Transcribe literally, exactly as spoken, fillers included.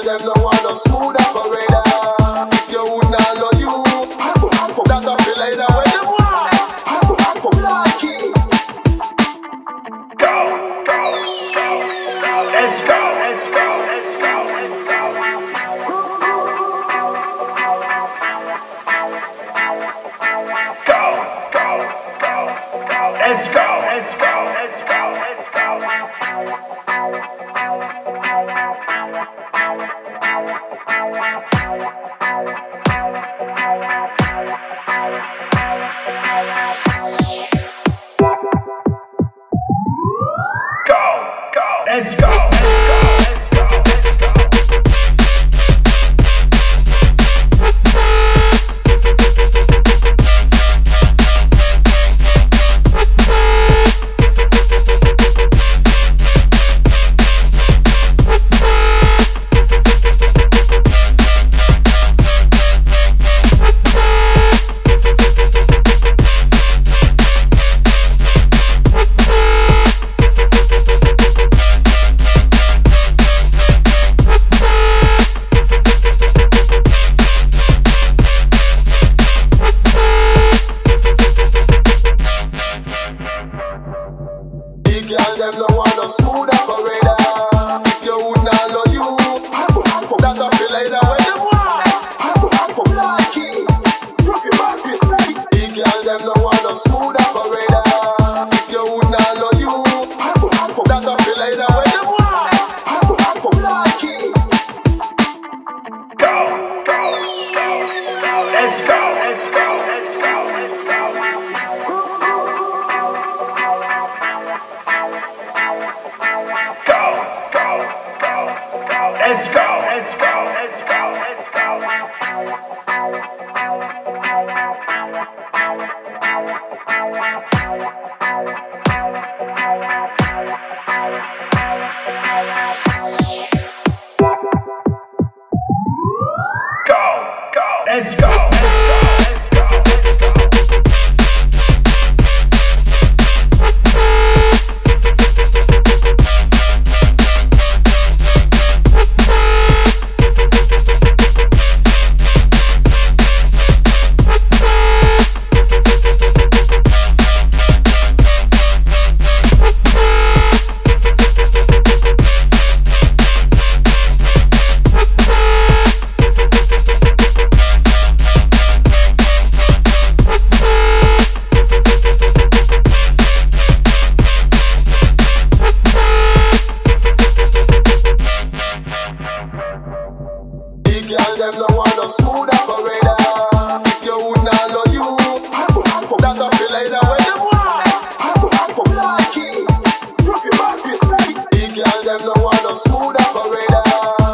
them no want no smooth operator. If you would not love you, that I feel like that way them want. Black keys. Go, go, go, go. Let's go, let's go, let's go, let's go. Go, go, go, go. Let's go, let's go, let's go, let's go. Let's go, let's go, let's go, let's go. Girl, them no want no smooth operator. If you would not love you, that I feel like that way them want. Black keys, drop your back this night. The girl, them no want no smooth operator. If you would not love you, that I feel like that way them want. Black keys. Go, go, go, go. Let's go, let's go, let's go, let's go. Let's go, let's go, let's go, let's go. Go, go, let's go, let's go, let's go, let's go. Girl, them no want no smooth operator. If you would not love you, that I feel like that way them want. Black keys, drop your back this night. The girl, them no want no smooth operator.